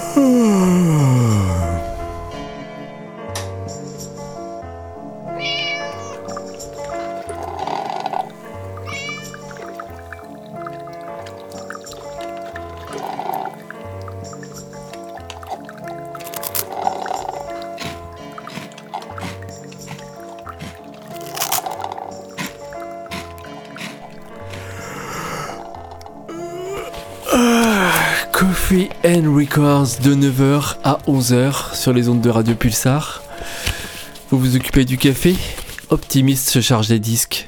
Coffee and Records de 9h à 11h sur les ondes de Radio Pulsar. Vous vous occupez du café ? Optimiste se charge des disques.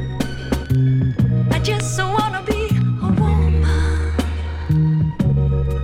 I just wanna be a woman.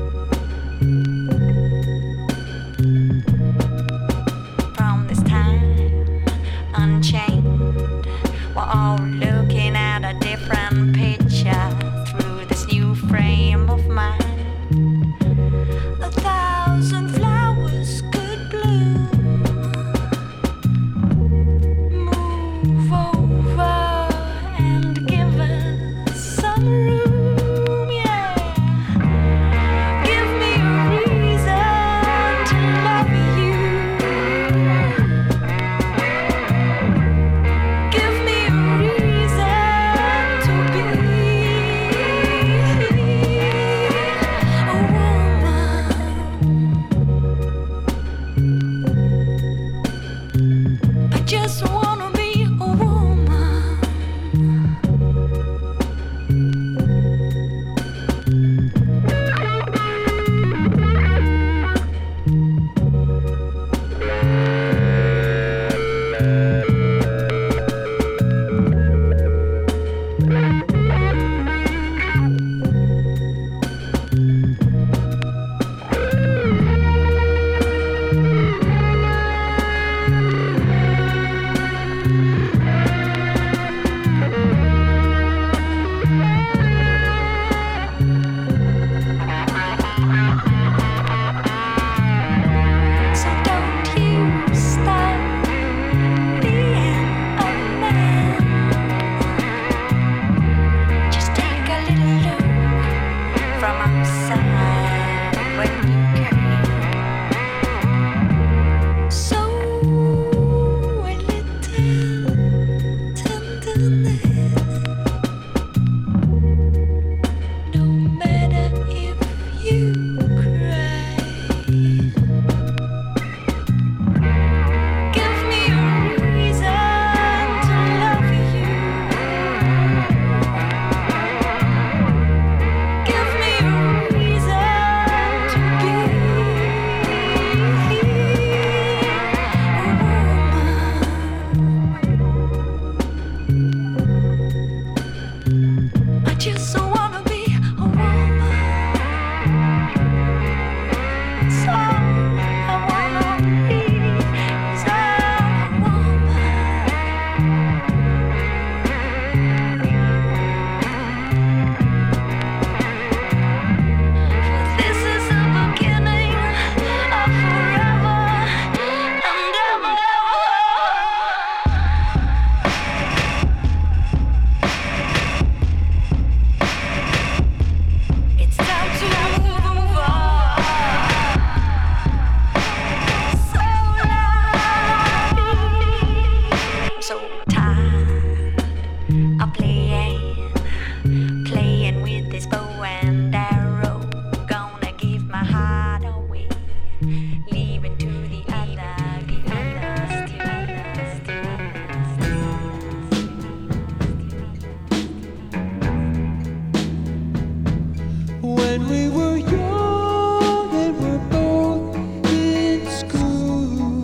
When we were young and were both in school,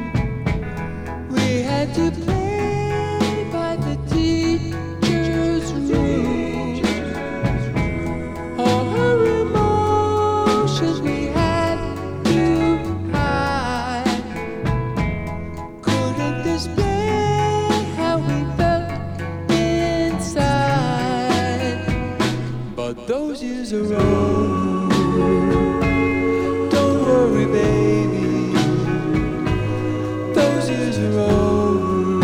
we had to play by the teacher's rules. All her emotions we had to hide, couldn't display how we felt inside. But those years are over. Don't worry, baby. Those years are over.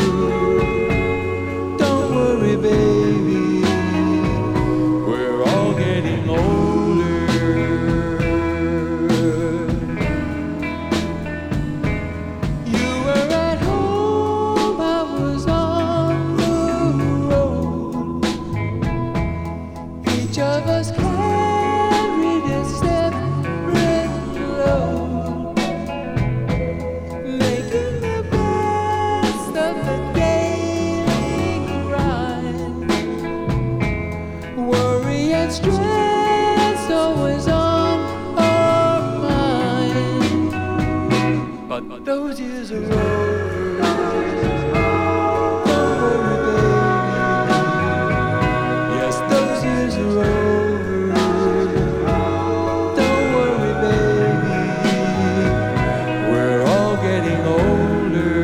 Don't worry, baby. We're all getting older. You were at home, I was on the road. Each of us carried a separate load, making the best of the daily grind. Worry and stress always on our mind. But those years are over. Don't worry, baby. Yes, those years are over. Don't worry, baby. We're all getting older.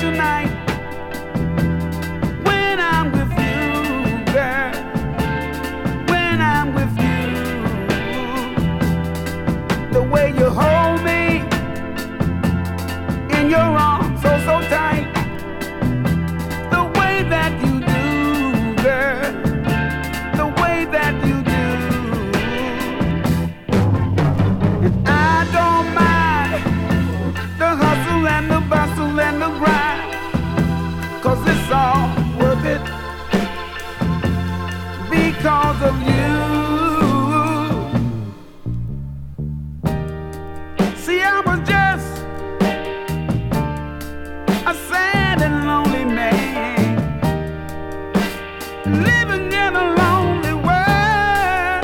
special night when I'm with you, girl. When I'm with you, the way you hold me in your arms so tight, the way that you do, girl, the way that you do. And I don't mind the hustle and the bustle and the grind, 'cause it's all worth it because of you. See, I was just a sad and lonely man, living in a lonely world.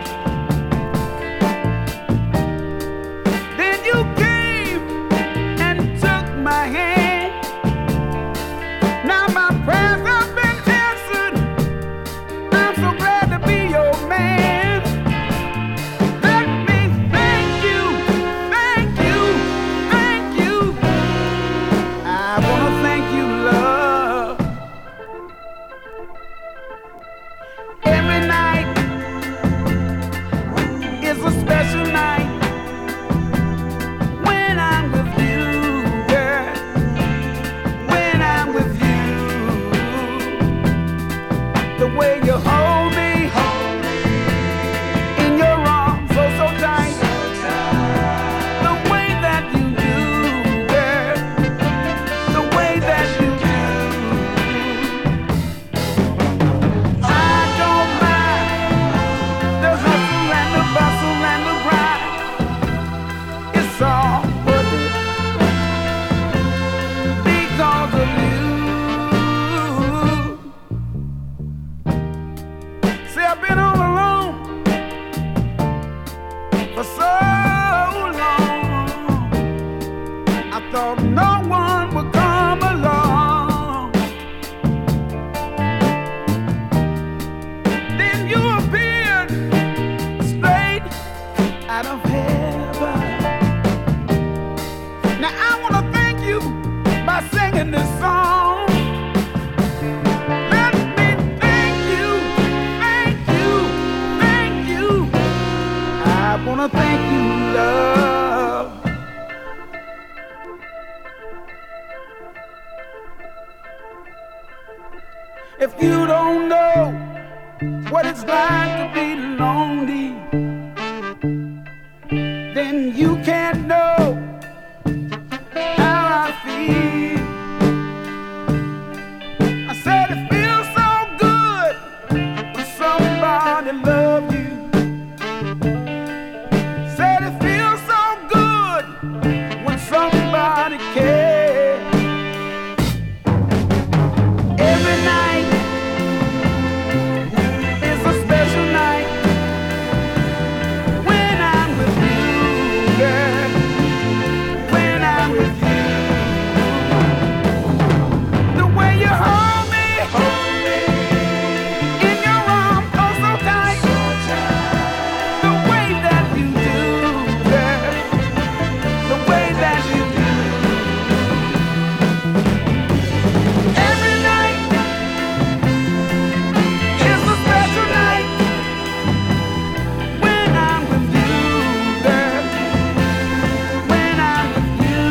Then you came and took my hand. Now my prayers have been answered. I'm so glad to be your man. Let me thank you, thank you, thank you. I wanna thank you, love. Every night is a special night when I'm with you, girl. When I'm with you, the way you hold me in your arms so tight, the way that you do, girl, the way that you do. I don't mind the hustle and the bustle and the grind. It's all worth it because of you. See, I've been all alone for so long. I thought no one would come along. Then you appeared straight out of heaven. Now I want to thank you by singing this song. Let me thank you, thank you, thank you. I want to thank you, love. If you don't know what it's like to be lonely, then you can't know how I feel. I said it feels so good when somebody loves you. Said it feels so good when somebody cares. Every night is a special night when I'm with you, girl. When I'm with you, the way you hold me in your arms so tight, the way that you do, girl, the way that you do. Every night is a special night when I'm with you, girl. When I'm with you.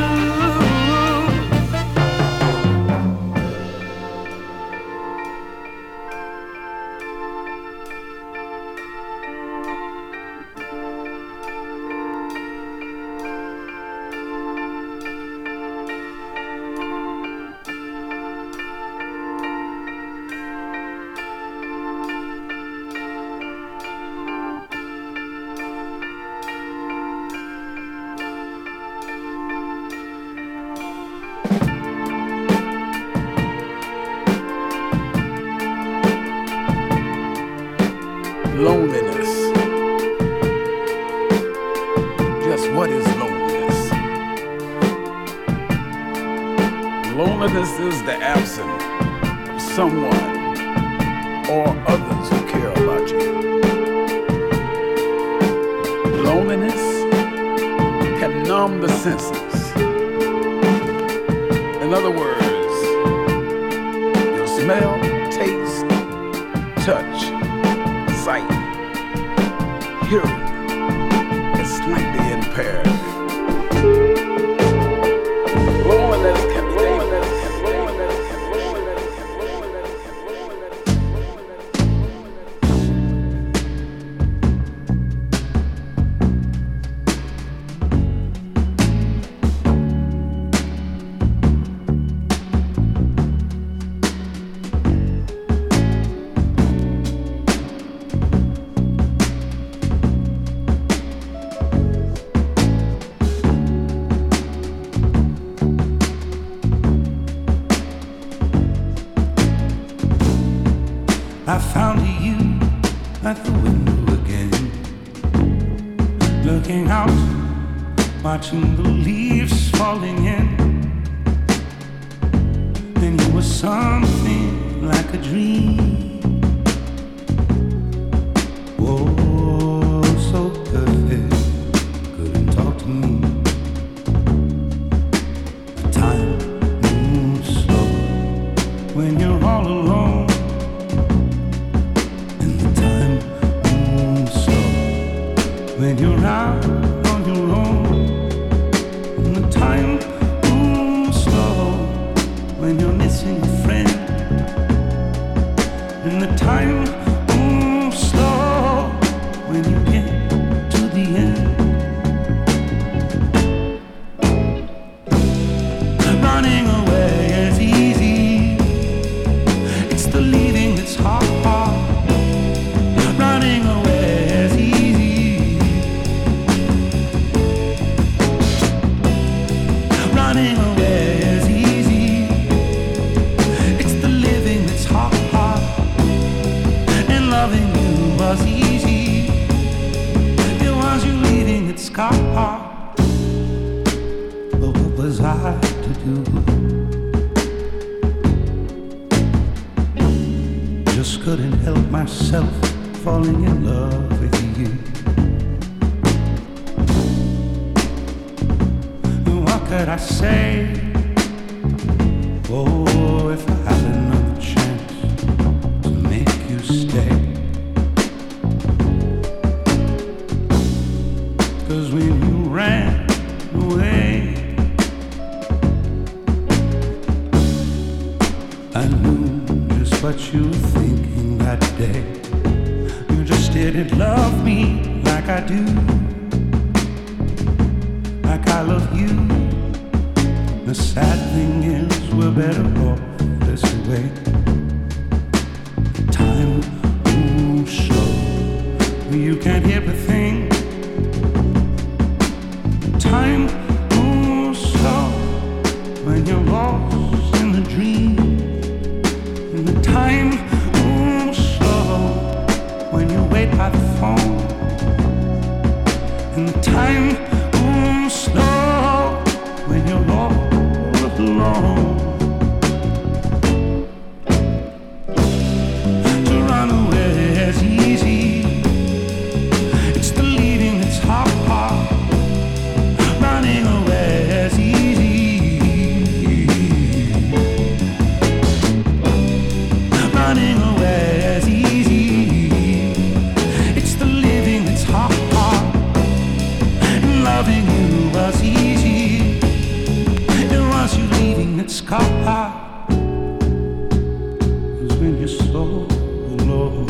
Loneliness. Just what is loneliness? Loneliness is the absence of someone or others who care about you. Loneliness can numb the senses. In other words, smell, taste, touch, sight, hearing is slightly impaired. Loneliness can be I found you at the window again, looking out, watching the leaves falling in. And you were something like a dream. Oh, so perfect, couldn't talk to me. The time moves slow when you're all alone. When you're out on your own, and the time moves slow. When you're missing a friend, and the time moves slow. When you get to the end, running away is easy. It's the leaving that's hard. Running away is easy. Running away is easy. It's the living that's hard. And loving you was easy. It was you leaving that's hard. But what was I to do? Just couldn't help myself falling in love with you. What could I say? Oh, if I had another chance to make you stay. 'Cause when you ran away, I knew just what you were thinking that day. You just didn't love me like I do, like I love you. The sad thing is we're better off this way. Time moves slow, you can't hear a thing. Time moves slow when you're lost in the dream. And the time moves slow when you wait by the phone. And the time moves slow when you're all alone. To run away is easy. It's the leaving that's hard. Running away is easy. Running away is easy. It's the living that's hard. And loving you was easy. It was you leaving that's hard. 'Cause when you're so alone,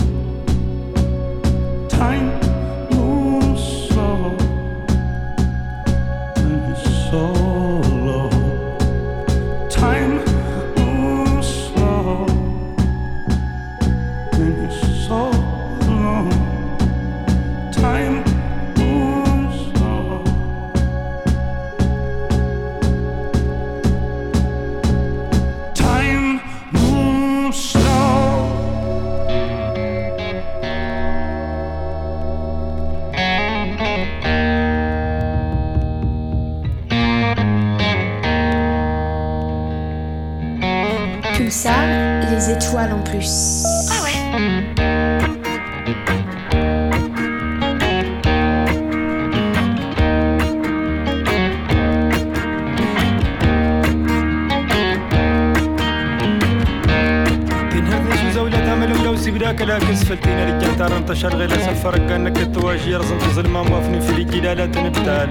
time moves slow. When you're so alone, time moves slow. When you're so alone, time moves slow. Time moves slow. Pulsar, les étoiles en plus. Ah ouais. كلا كسفلتين رجال تار انتشر غير سفر كانك التواجي رزم ظلمه موافني في الجيل لا تنبتال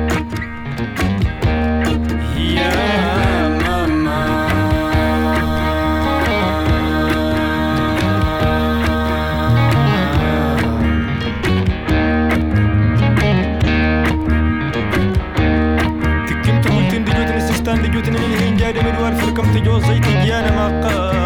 يا ماما تكنت قلت ان دجوتني السستان دجوتني من هين جاي مدوار فركم تجوز زيت انا ما قال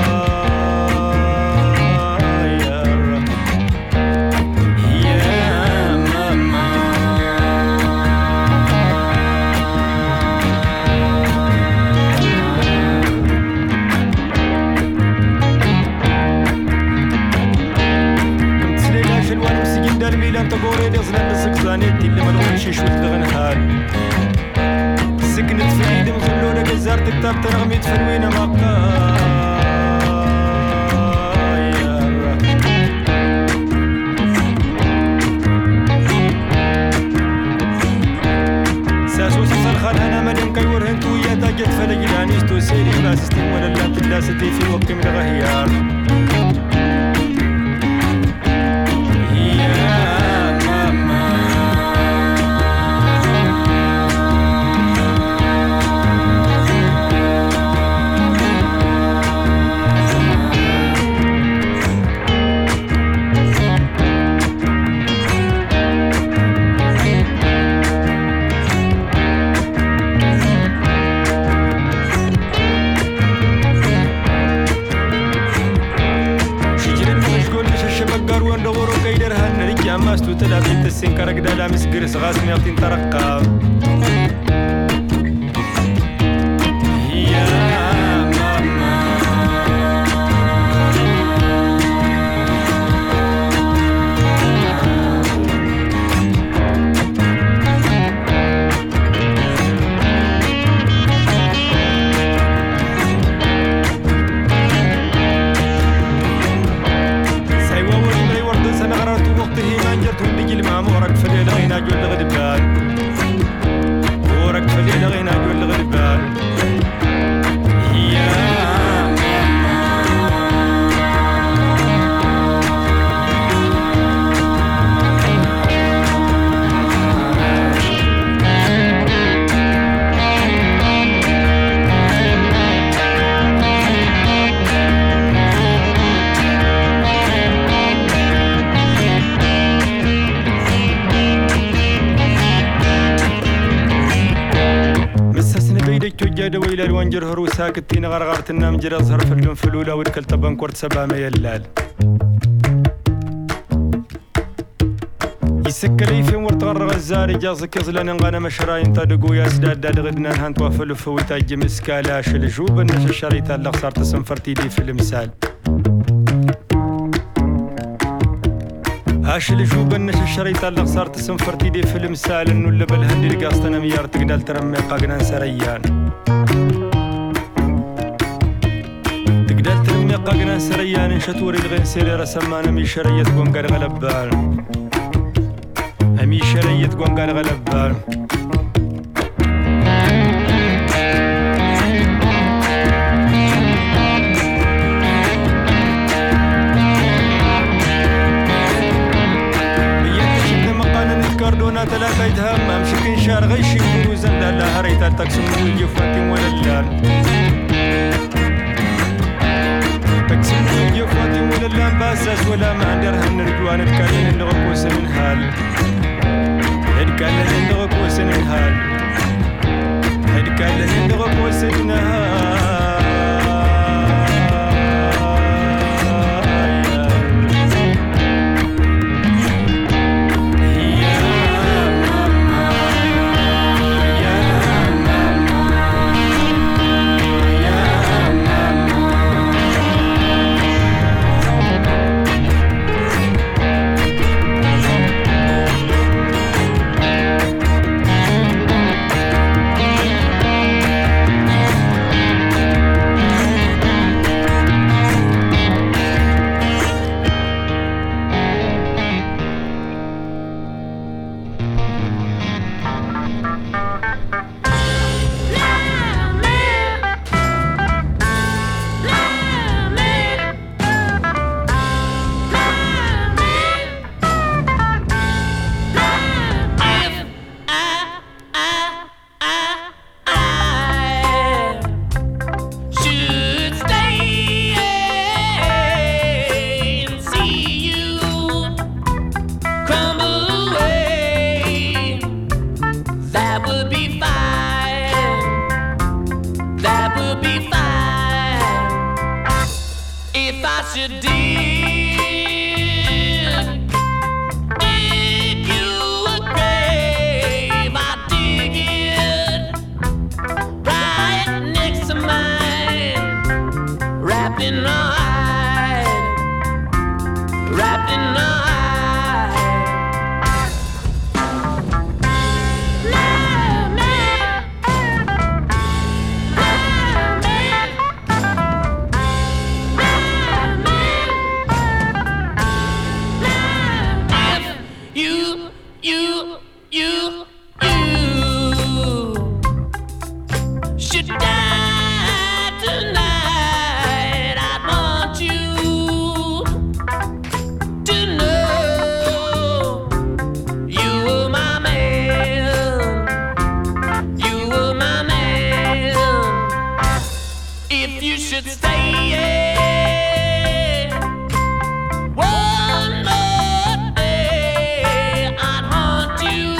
تقولي لي زلان السكزانيتي اللي ما نقولش شو تغنهال سكنت في ايدي مخلونا جزارت كتاب ترغمي تفلوينا مقايا ساسو سسر خان انا مدن كيور هنتو يا تاجت فلجلانيش تو سيري باسستي ولا لا تلاستي في وقت من الغيار ماستو تلابين تسين كرق دالا مسقرس غاسمي اغتين ترقى يا ماما ورق فليل غينا جول الغدبان ورق فليل غينا جول الغدبان يا جاد ويل الوانجر هرو ساكتين غرغرت النام جرى ظهر فلون فلولا ودكل طبن كورت سبا ما يلال يسكلي في ورت غرغ الزاري جازك يزلن انغانا مشراين تدقو يا سداد داد غدنا هانت وافلو فويتا جم اسكالا شلجوب النش الشريطة اللي خسرت سنفرتي لي في المثال هاش الجوب النش الشريطة اللي خسرت سنفرتي لي في المثال انو اللي بالهندي لقاستنا ميار تقدال ترمي قاقنا سريان تقدال ترمي قاقنا سريان شتوري الغين سيري رسمان مي شريت قنقر غلبان امي شريت قنقر غلبان كاردونا تلاقيتها ما مشكين شار غيشي وزن لا هريت تقسم ويجي فاتي ولا اللان تقسم ويجي فاتي ولا اللان باساس ولا ما عندها نرجوان تكالين نغقوس من هال تكالين نغقوس من هال تكالين نغقوس من هال you should die tonight. I want you to know you were my man. You were my man. If you should stay one more day, I'd haunt you.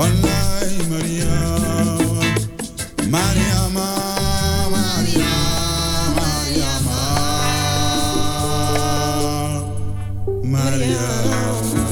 Wallahi Mariam, Mariama, Mariama, Mariama.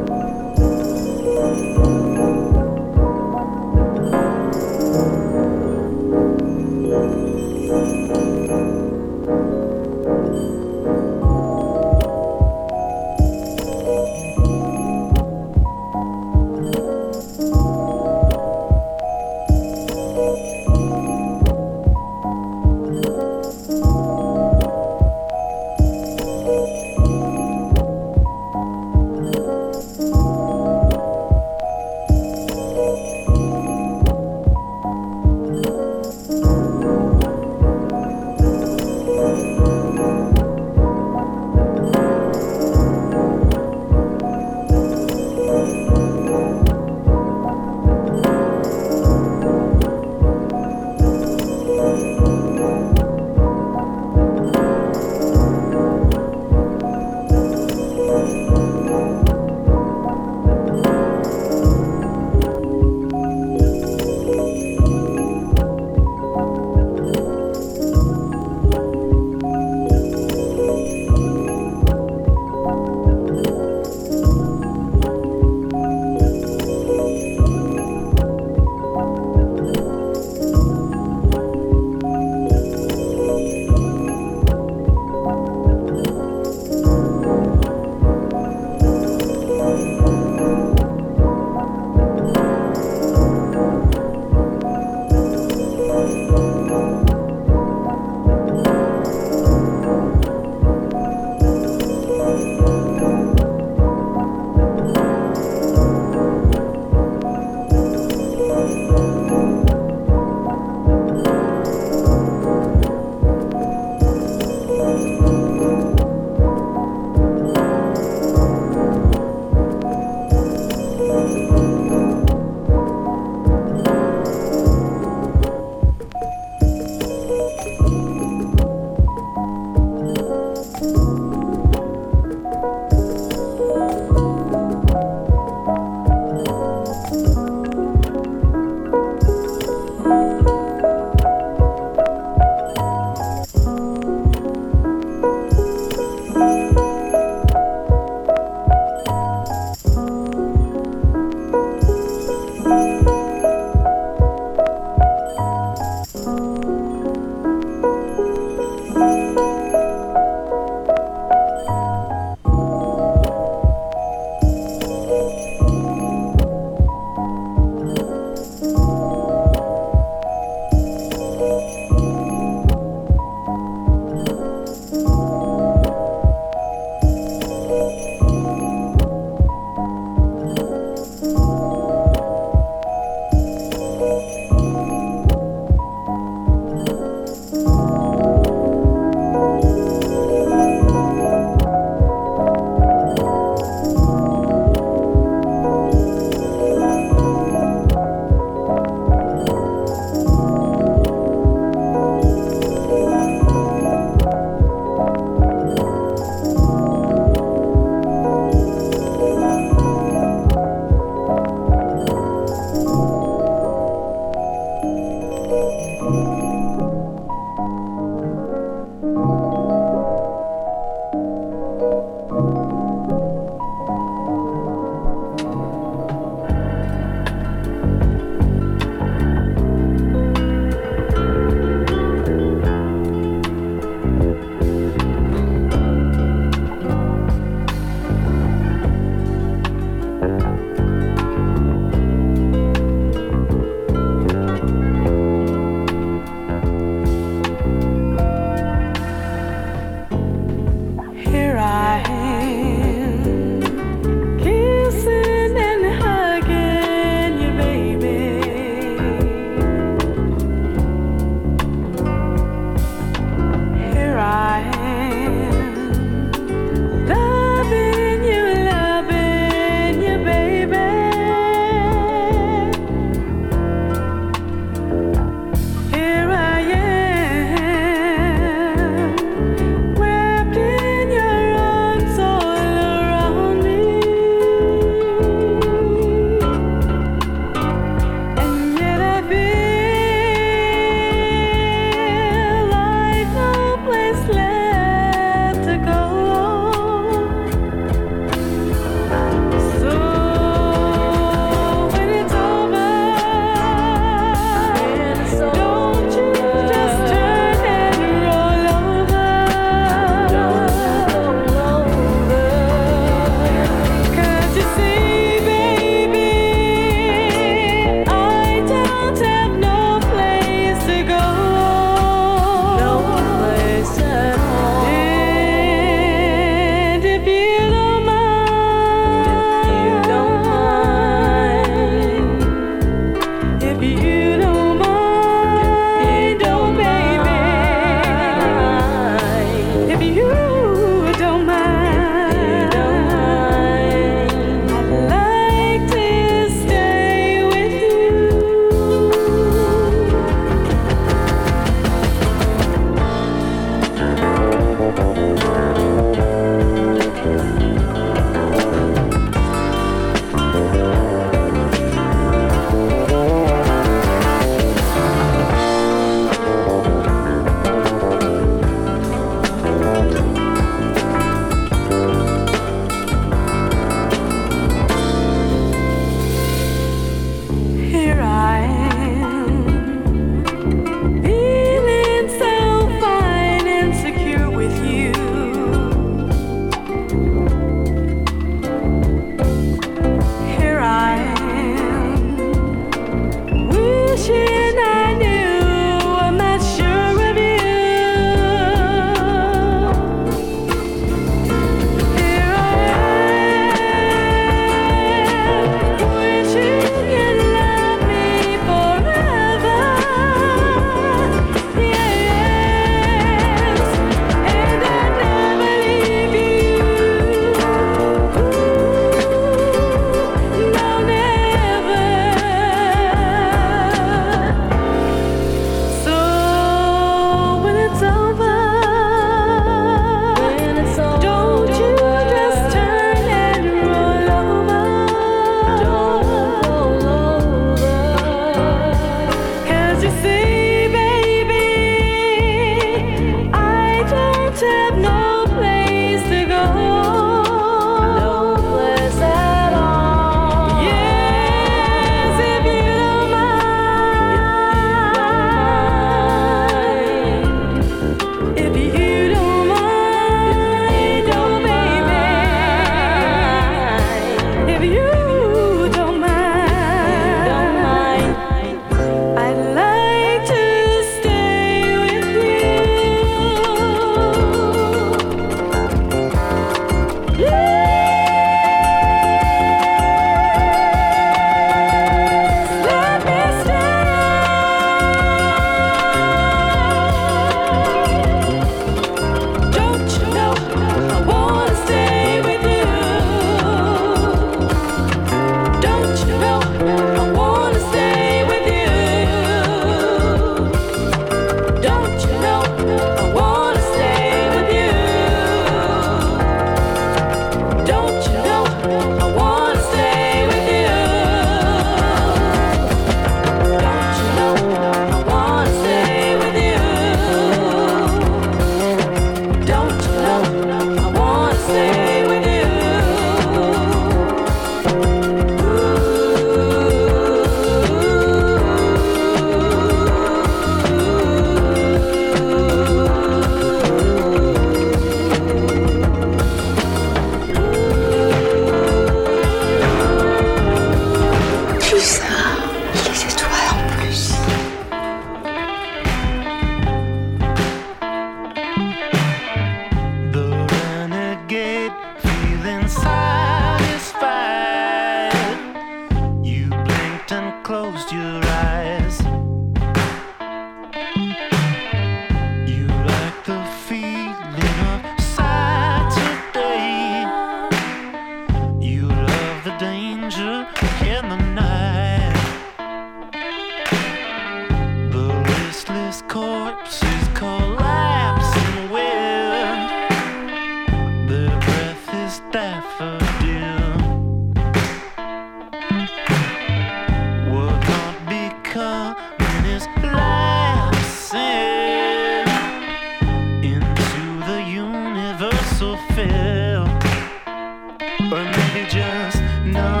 fulfill, or maybe just no.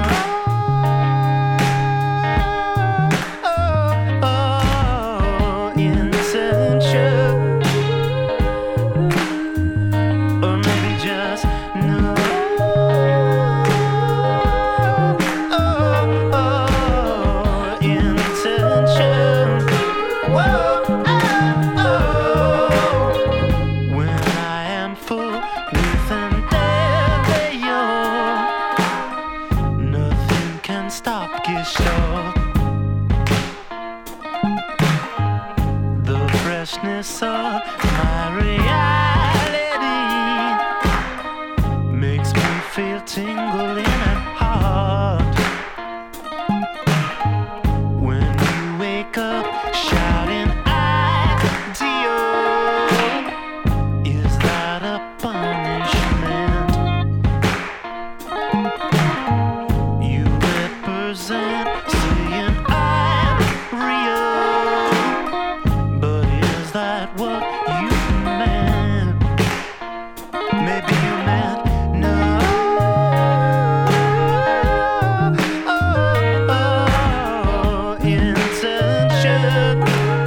Intention, or maybe just no. Intention. Whoa, when I am full with endeavor, nothing can stop Gestalt. The freshness of my reality makes me feel tingling at heart. When you wake up shouting ideal, is that a punishment? You represent saying I'm real, but is that what you meant? Maybe you meant no. Intention.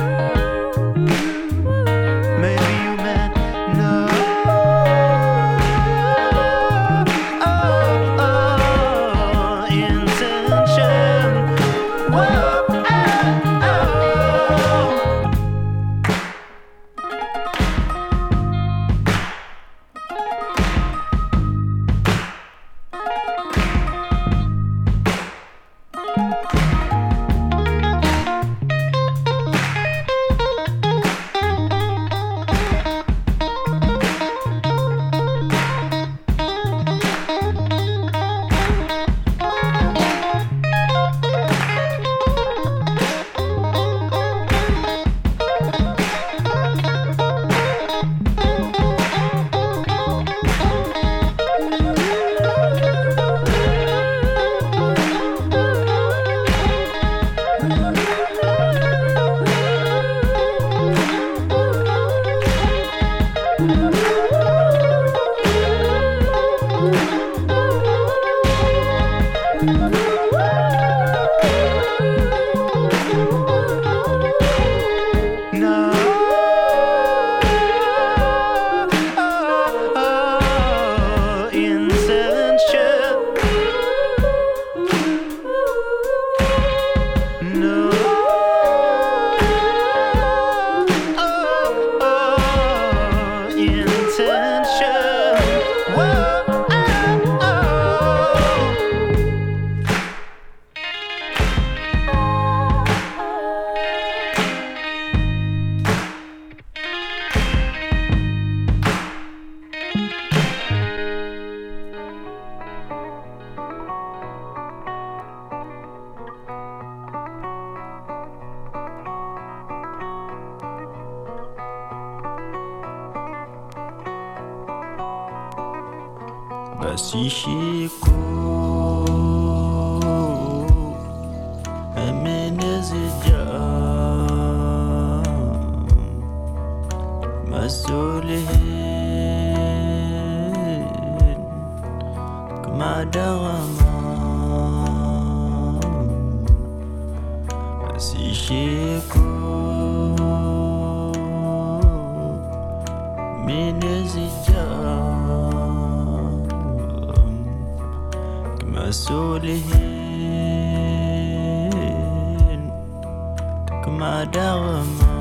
Maybe you meant no. Intention. Whoa. No. Intention. No. Intention. Whoa. Basishiko Amenezija Masulihin Kumadawama Basishiko Menezija Masulihin Kumadawama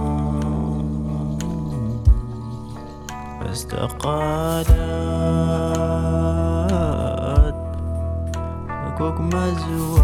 Fastaqalat Akwak mazwa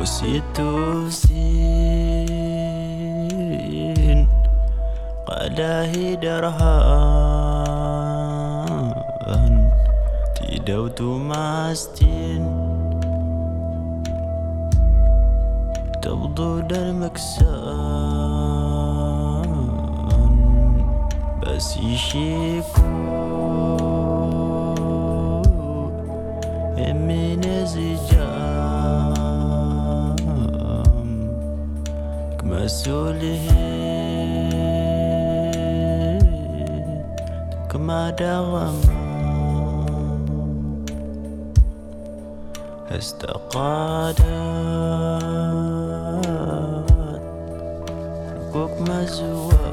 وسيتوسين قلاهي درهان تيدوت ماستين تبدو المكسان بس يشيكو من زجام كمسولين كما دوام استقادت ركوك مزوام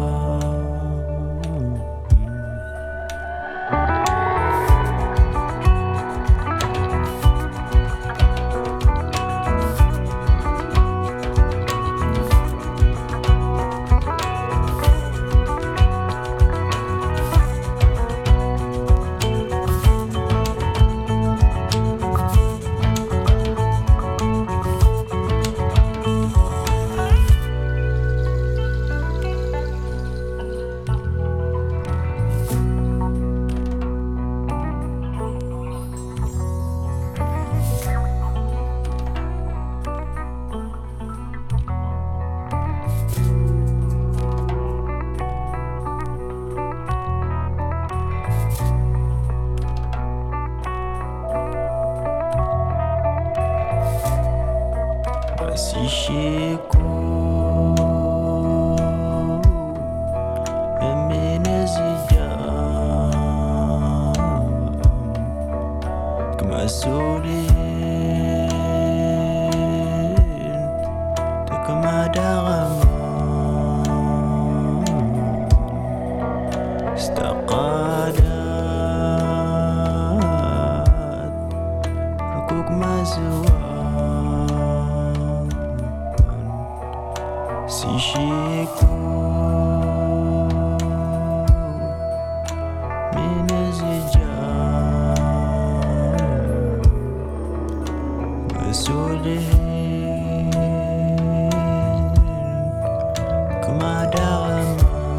Sishiko Eminezijam Kemasulin Tekamadagam Istaqadat Rukuk mazwa Sishiko Minezijam Masulin Kemadam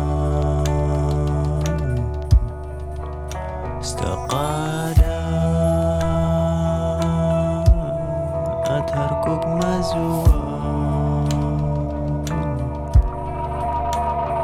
Istaqadat Harkuk mazwa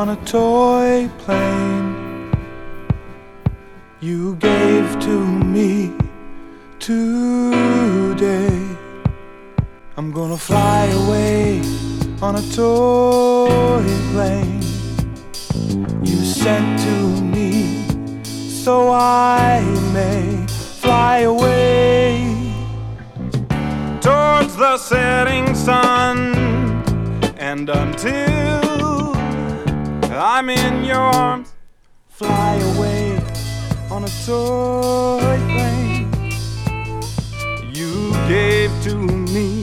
on a toy plane you gave to me today. I'm gonna fly away on a toy plane you sent to me, so I may fly away towards the setting sun, and until I'm in your arms, fly away on a toy plane you gave to me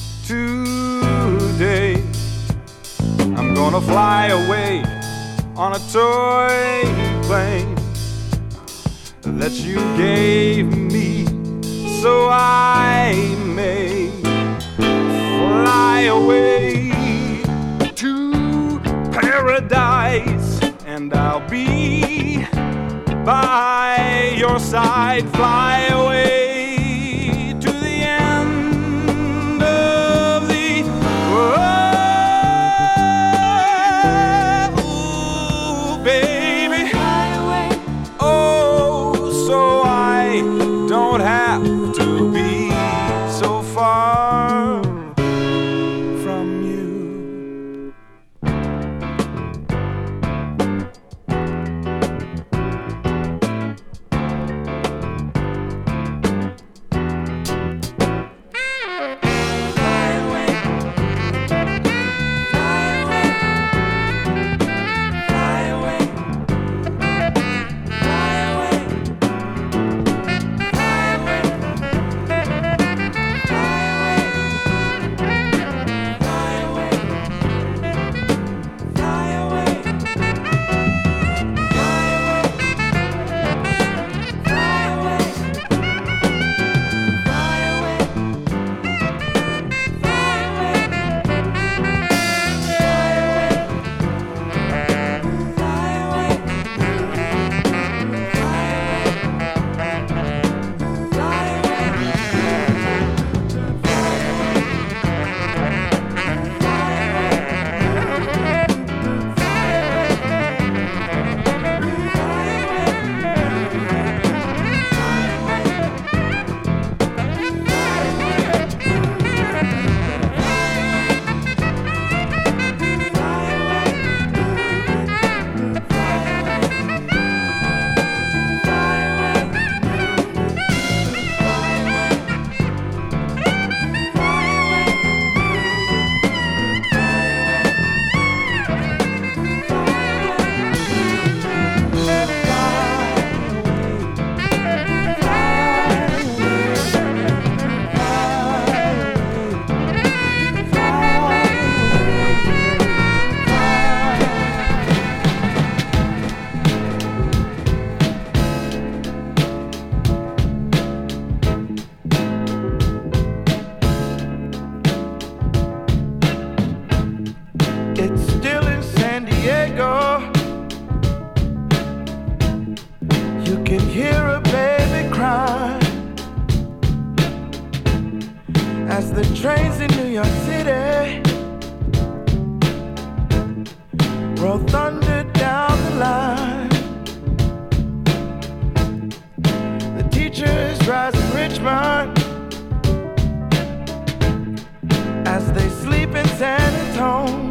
today. I'm gonna fly away on a toy plane that you gave me, so I may fly away to paradise, and I'll be by your side. Fly away to the end of the world, ooh, baby. Fly away, oh, so I don't have to be so far from you. as the trains in New York City roll thunder down the line. The teachers rise in Richmond as they sleep in San Antonio,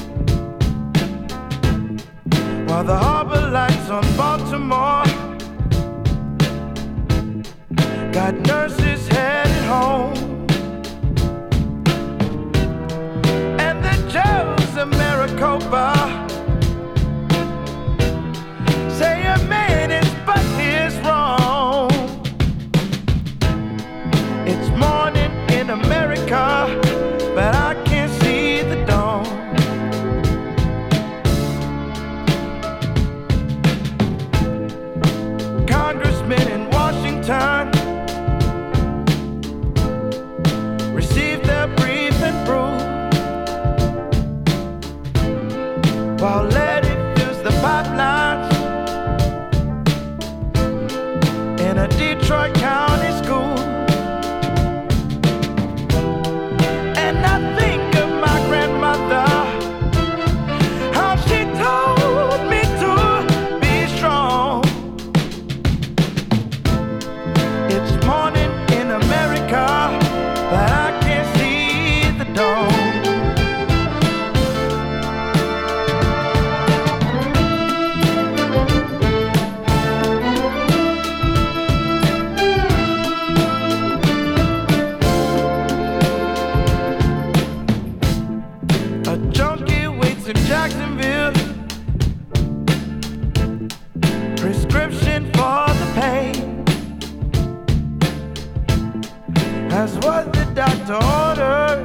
while the harbor lights on Baltimore got nurses headed home. And the Joes of Maricopa say a man is but his wrong. It's morning in America, but I can't see the dawn. Congressmen in Washington receive their brief and brew, while Letty fills the pipelines in a Detroit County school. And I think of my grandmother, how she told prescription for the pain. That's what the doctor ordered.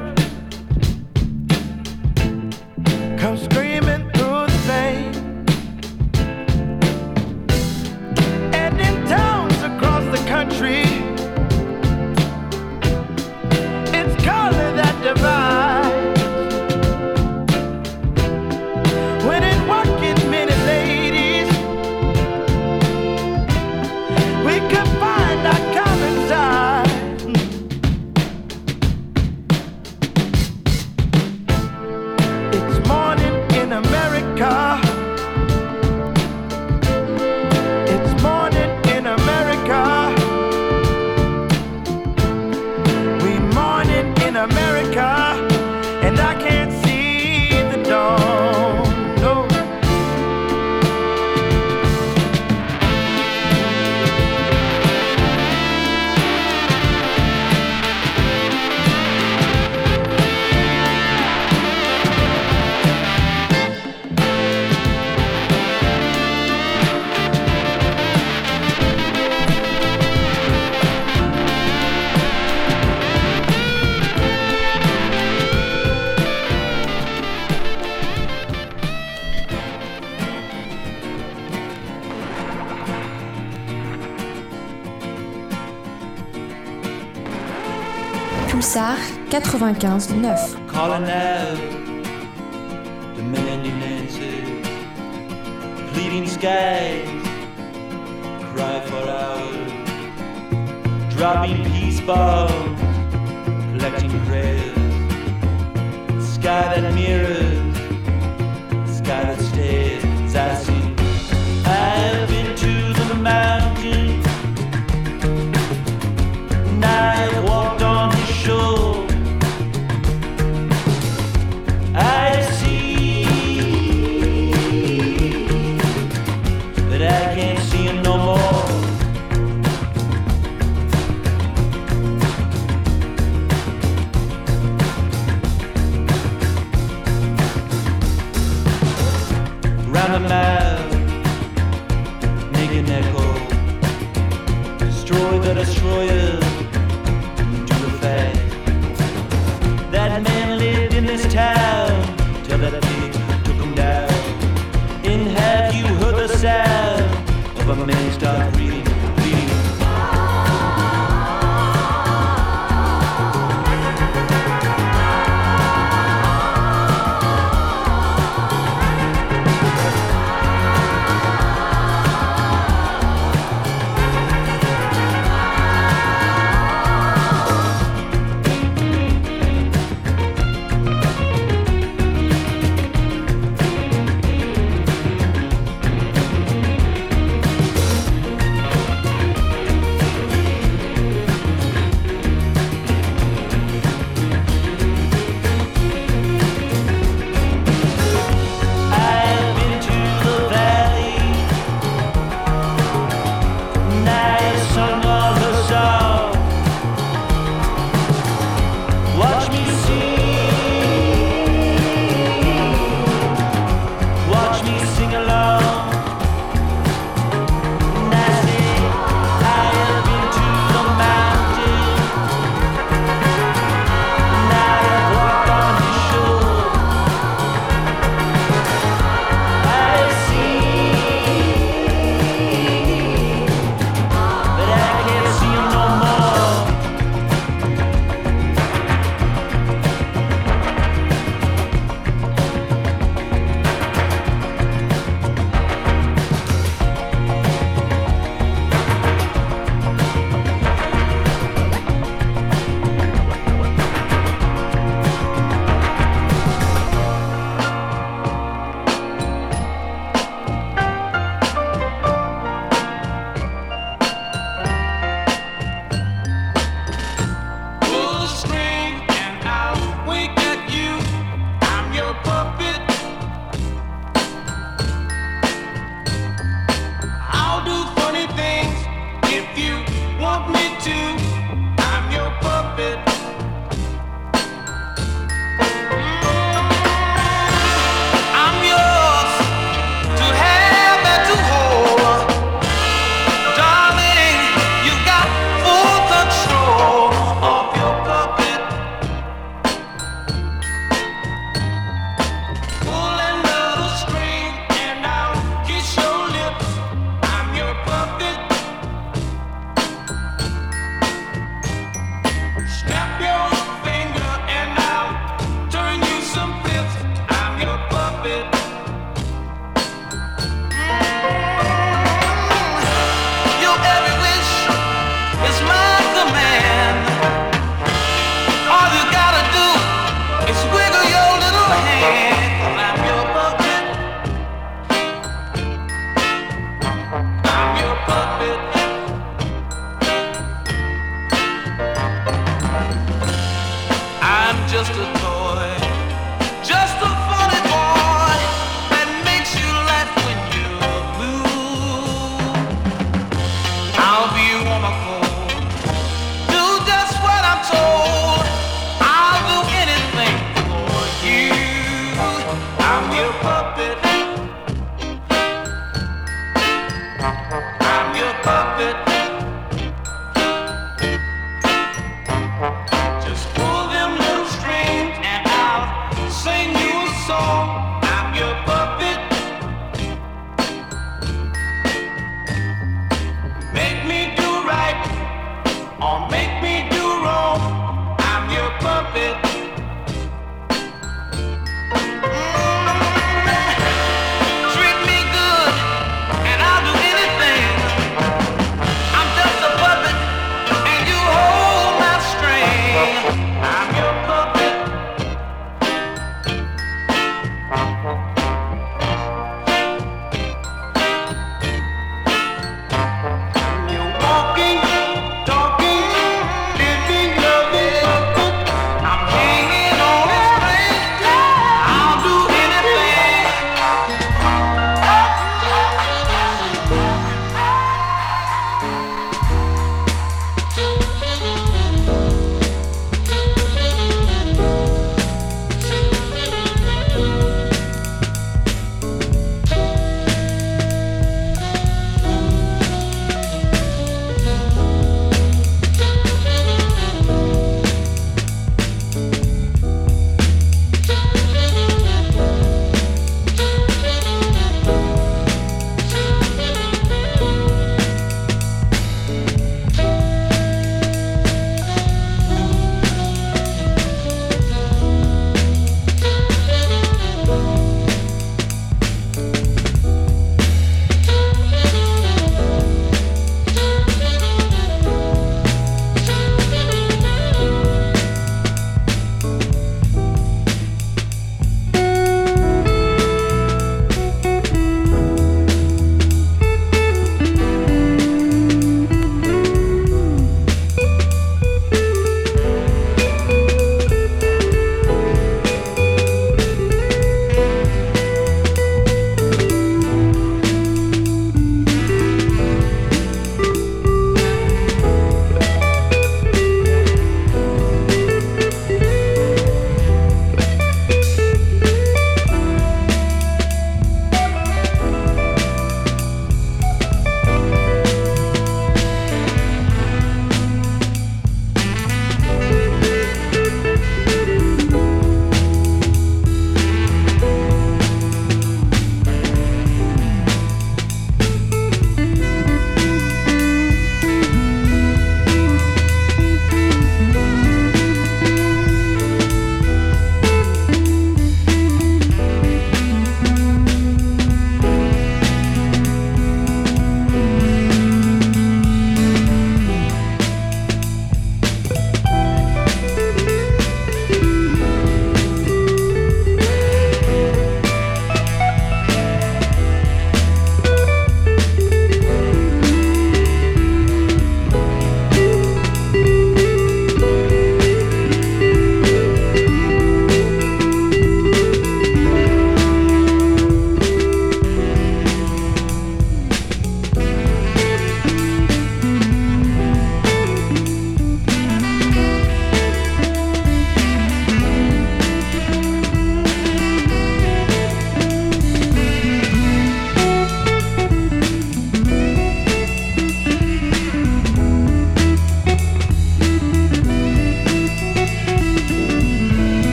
Come screaming through the pain. And in towns across the country, it's color that divides. When in working many ladies, we could find our common side. It's morning in America. It's morning in America. We morning in America, and I can't see the dawn. No. Pulsar 95.9. Calling out the mending answers, pleading skies cry for hours, dropping peace bombs, collecting prayers, sky that mirrors, sky that stares. I see I've been to the mountain, and I've walked on the shore. I see that I can't see him no more. Round the mile, make an echo, destroy the destroyer, do the fact. That man lived in this town till that pig took him down. And have you heard the sound of a man start breathing, bleeding?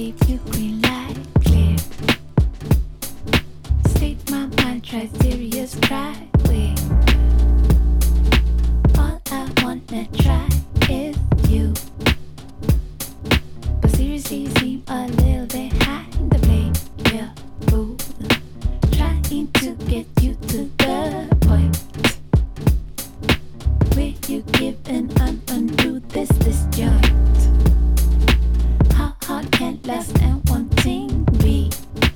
keep you green light clear. State my mind, try serious, try with. All I wanna try is you. But seriously, seem a little behind the blade. Yeah, ooh. Trying to get you to the point where you give and undo this disjoint. How hard can last and wanting be?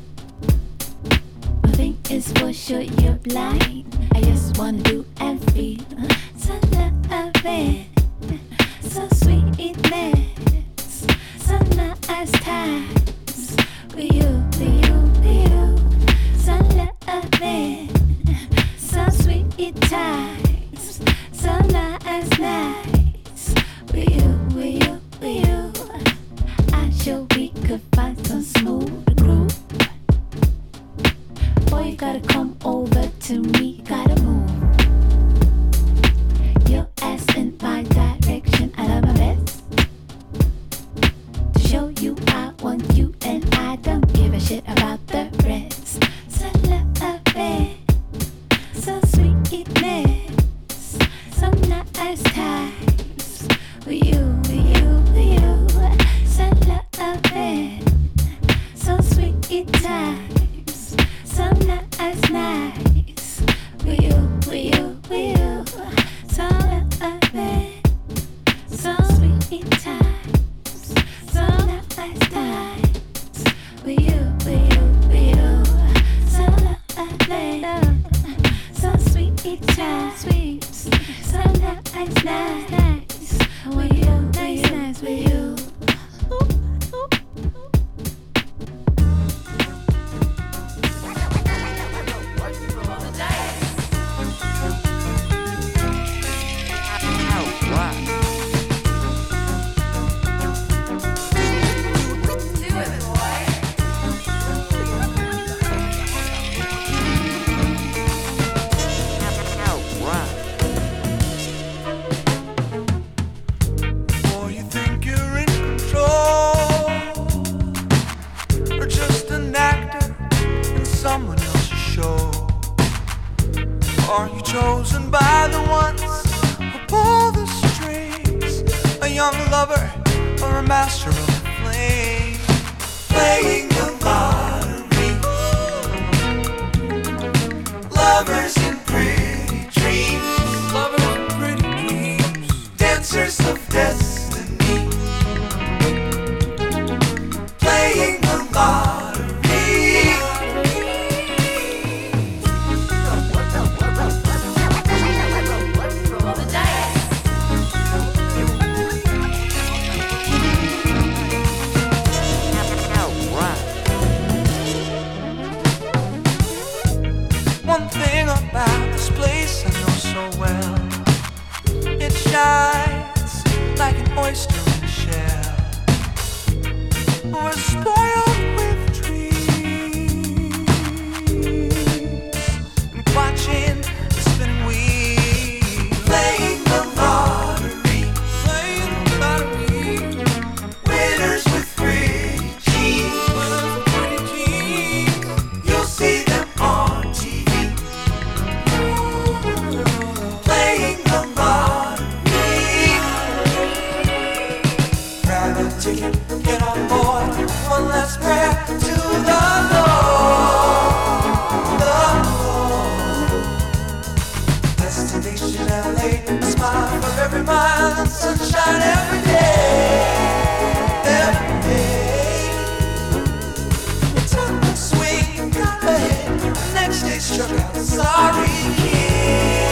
One thing is for sure, you're blind. I just wanna do and feel so loving, so sweetness, so nice times with you, with you, with you. So loving, so sweet times, so nice, nice with you, with you, with you. I'm sure we could find some smooth groove. Boy, you gotta come over to me, gotta move your ass in my direction. I love my best to show you I want you, and I don't give a shit about the rest. So loving, so sweetness, so nice times with you, with you, with you. So loving, so sweet times, so nice, nice with you, with you, with you. So loving, so sweet times, so nice times with you, with you, with you. So loving, so sweet times, sweet, so nice, nice with you, nice, nice with you. Or you think you're in control, or just an actor in someone else's show? Are you chosen by the ones who pull the strings? A young lover or a master of the flame? Playing the lottery, lovers in pretty dreams, lovers in pretty dreams, dancers of destiny, playing the lottery. One thing about this place I know so well, it shines like an oyster in a shell. We're spoiled with dreams and watching the spinning wheel. Playing the lottery, playing the lottery. Winners with pretty jeans, winners with pretty jeans. You'll see them on TV. Playing the lottery. Grab a ticket, get on board. One last prayer to the Lord. The Lord. Destination LA, a smile from every mile and sunshine every day. Every day. It's on the swing, got ahead. The next day struck out, sorry kid.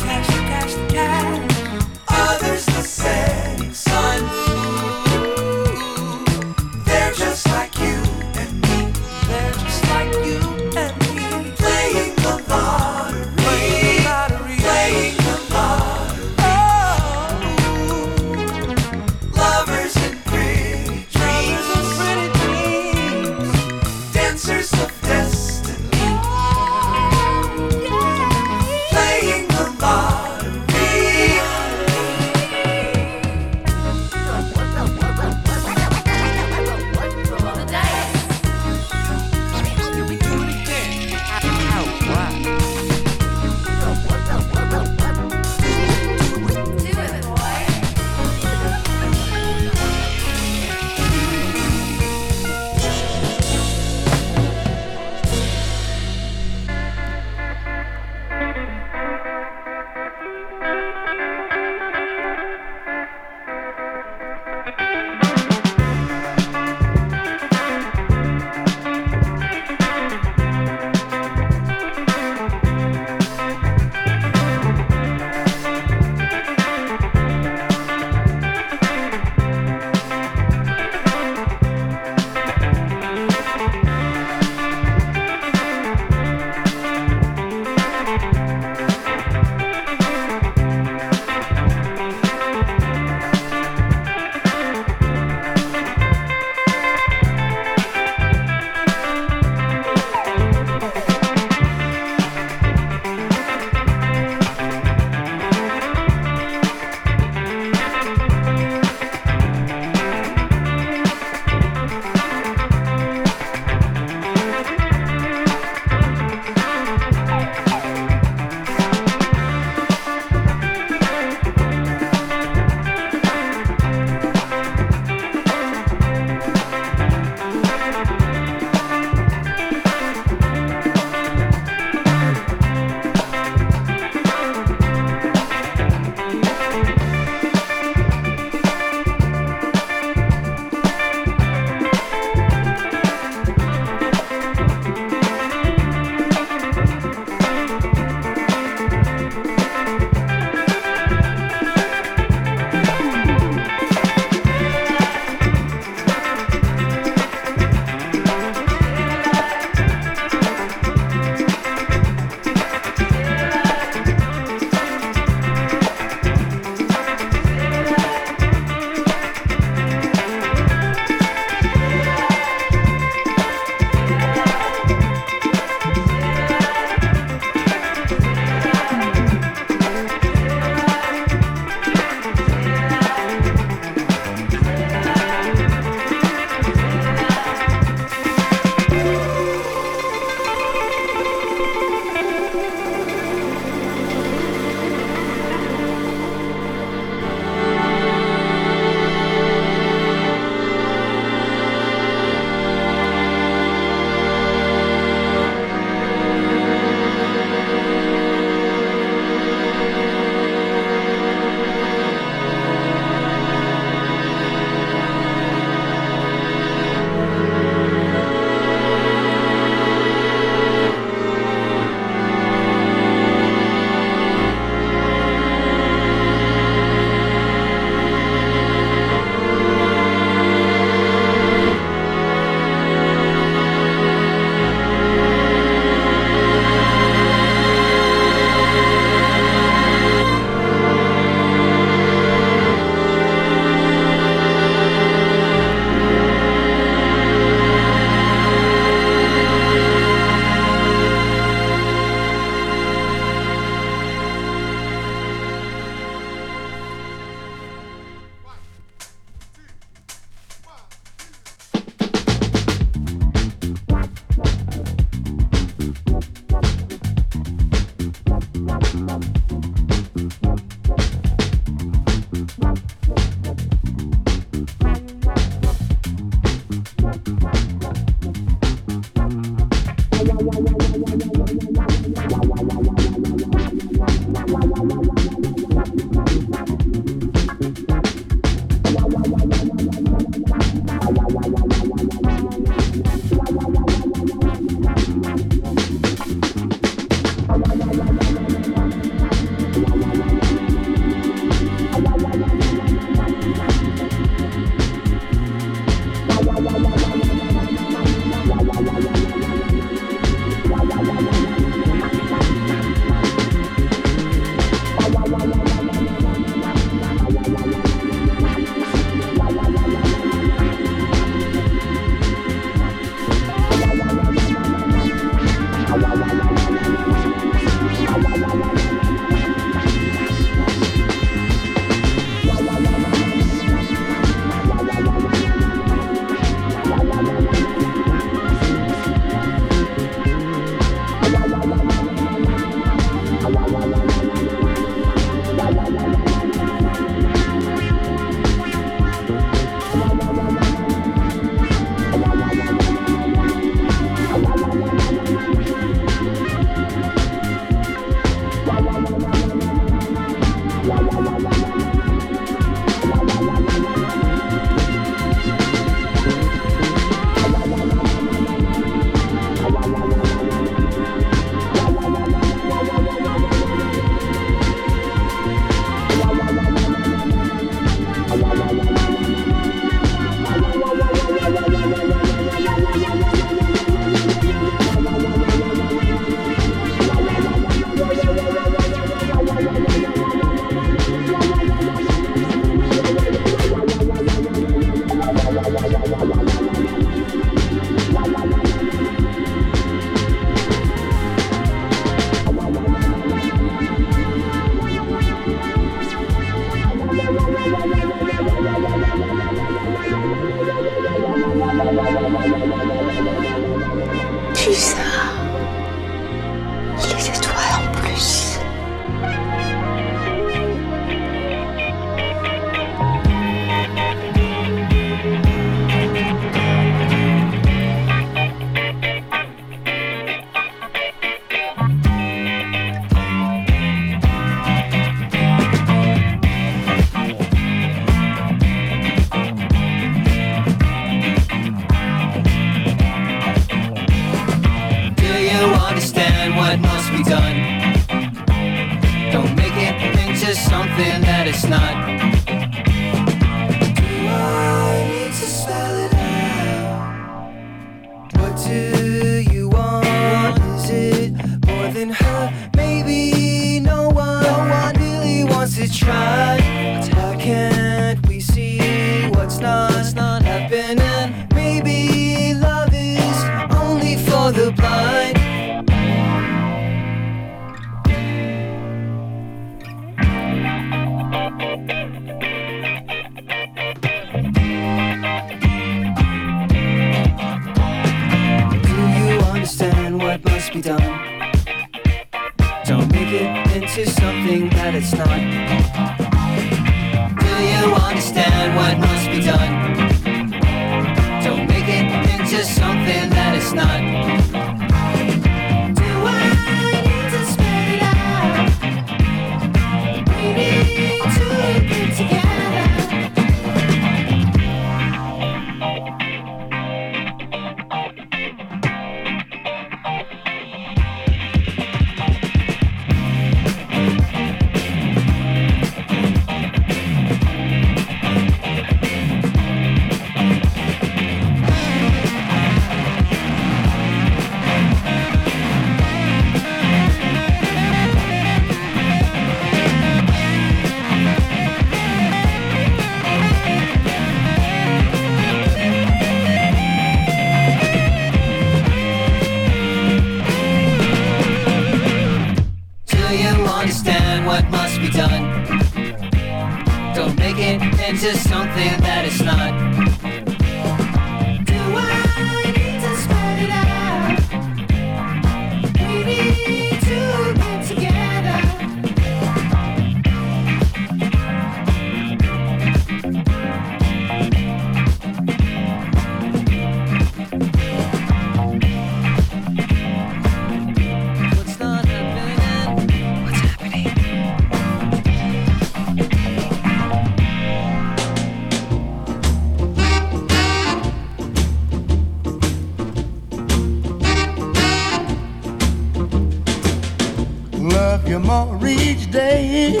love you more each day.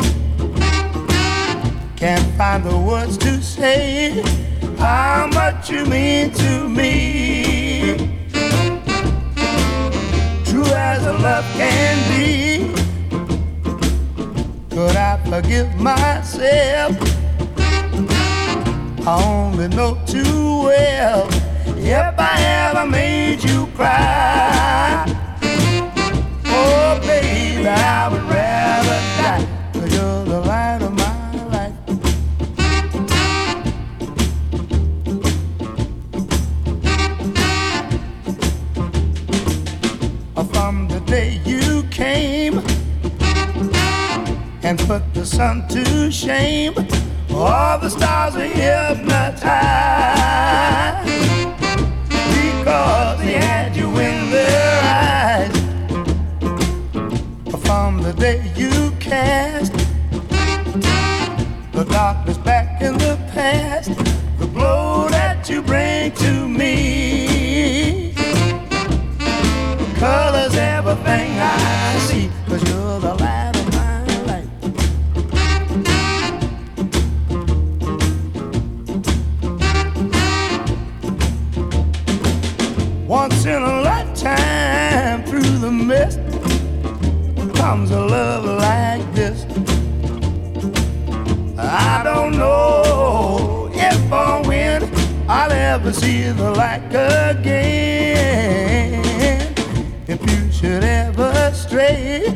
Can't find the words to say how much you mean to me. True as a love can be. Could I forgive myself? I only know too well if I ever made you cry. Oh, baby, I would rather die, 'cause you're the light of my life. From the day you came and put the sun to shame, all the stars are hypnotized because they had you in their eyes. From the day you cast the darkness back in the past, the glow that you bring to me colors everything I see, 'cause you're the light of my life. Once in a lifetime, through the mist comes a love like this. I don't know if or when I'll ever see the like again. If you should ever stray,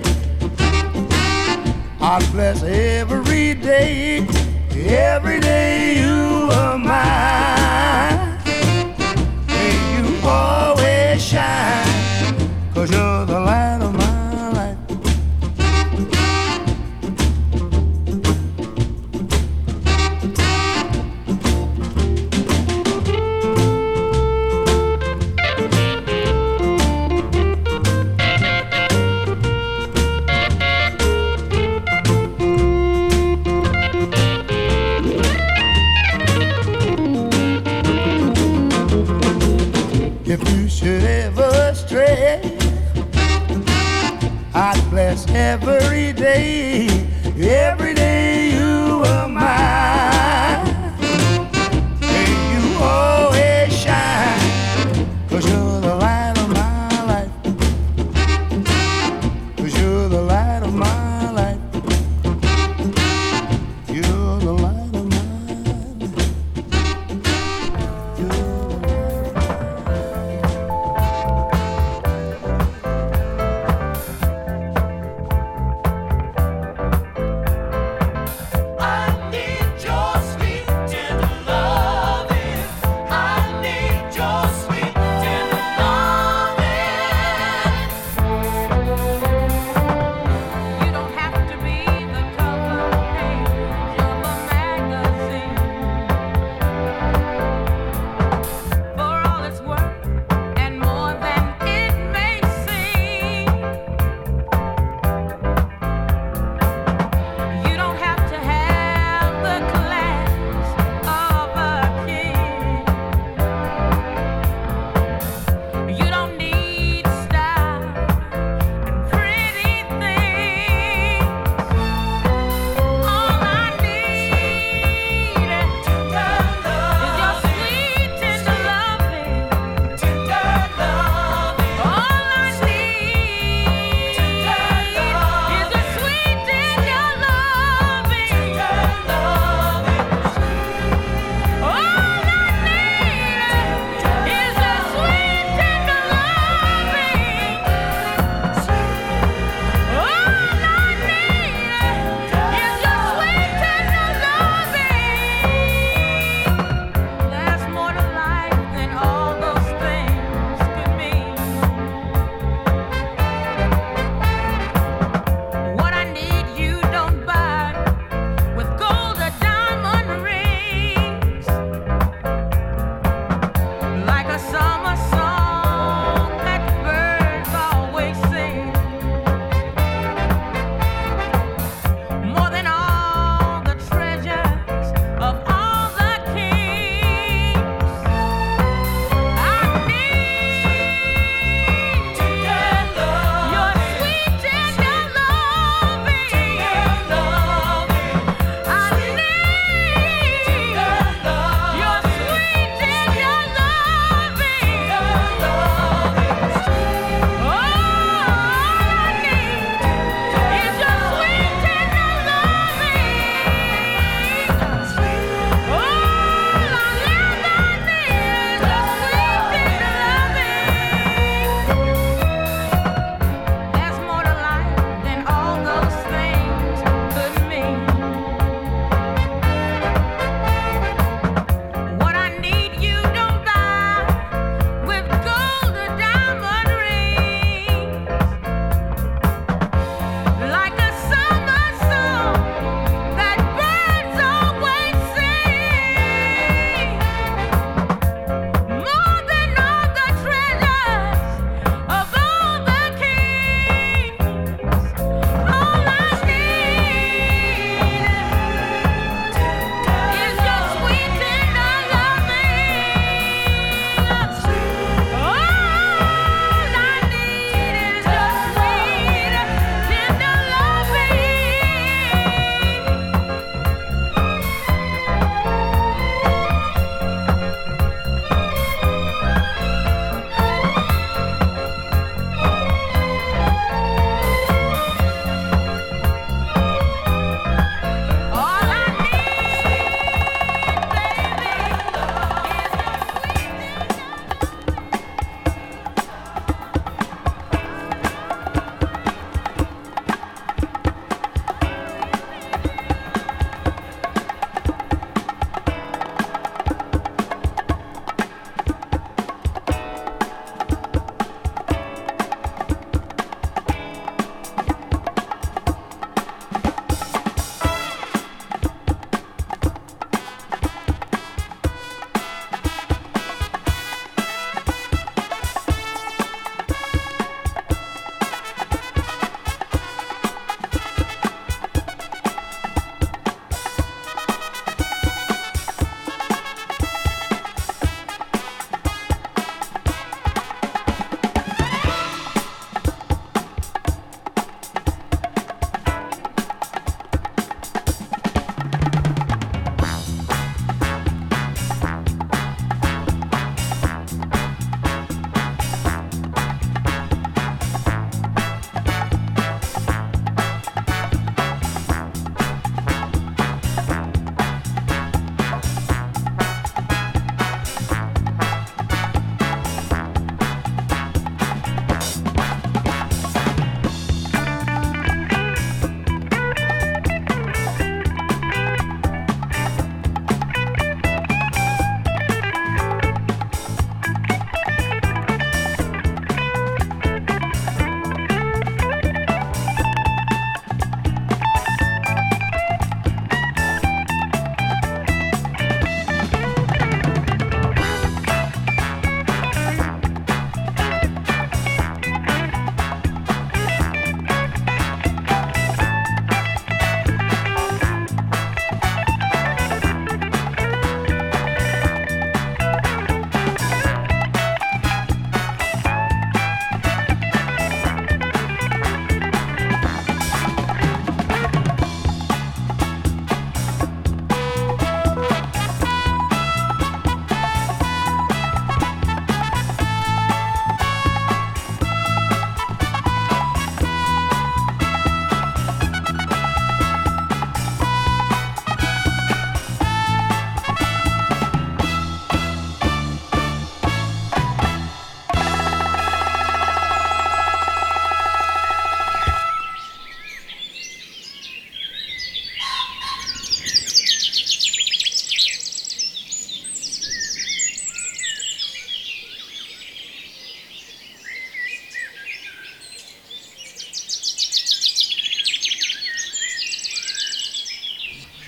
I'd bless every day you are mine. May you always shine, 'cause you're the light of my life. If you should ever stray, I'd bless every day you are mine. May you always shine, 'cause you're the light of my life. 'Cause you're the light of my life. You're the light of my life.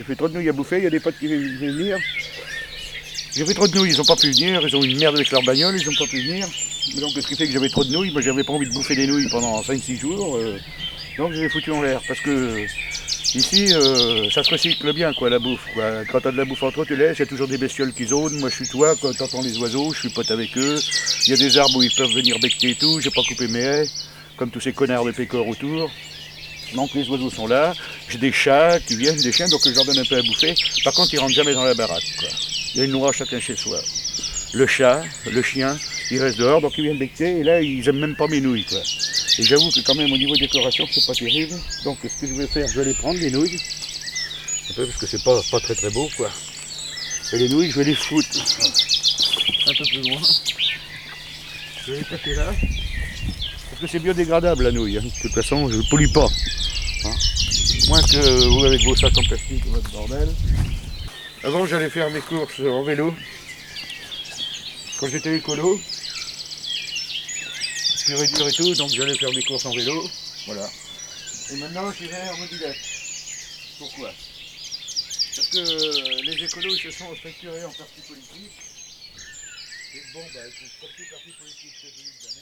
J'ai fait trop de nouilles à bouffer, il y a des potes qui veulent venir. J'ai fait trop de nouilles, ils n'ont pas pu venir, ils ont une merde avec leur bagnole, ils n'ont pas pu venir. Donc ce qui fait que j'avais trop de nouilles, moi j'avais pas envie de bouffer des nouilles pendant 5-6 jours. Donc je les ai foutues en l'air parce que ici ça se recycle bien quoi la bouffe. Quoi. Quand t'as de la bouffe entre eux, tu laisses, il y a toujours des bestioles qui zonent, moi je suis toi, quand t'entends les oiseaux, je suis pote avec eux. Il y a des arbres où ils peuvent venir becter et tout, j'ai pas coupé mes haies, comme tous ces connards de pécores autour. Donc les oiseaux sont là, j'ai des chats qui viennent, des chiens, donc je leur donne un peu à bouffer. Par contre ils rentrent jamais dans la baraque. Quoi. Il y a une noix chacun chez soi. Le chat, le chien, ils restent dehors, donc ils viennent becter, et là ils aiment même pas mes nouilles. Quoi. Et j'avoue que quand même au niveau décoration c'est pas terrible. Donc ce que je vais faire, je vais les prendre les nouilles. Un peu parce que c'est pas très très beau quoi. Et les nouilles je vais les foutre un peu plus loin. Je vais les passer là. Parce que c'est biodégradable la nouille. Hein. De toute façon je ne pollue pas. Hein. Moins que vous avec vos sacs en plastique ou votre bordel. Avant j'allais faire mes courses en vélo. Quand j'étais écolo, pur et dur et tout, donc j'allais faire mes courses en vélo, voilà. Et maintenant j'y vais en mobilette. Pourquoi? Parce que les écolos se sont structurés en partis politiques. Et bon, bah, ils sont sortis partis politiques.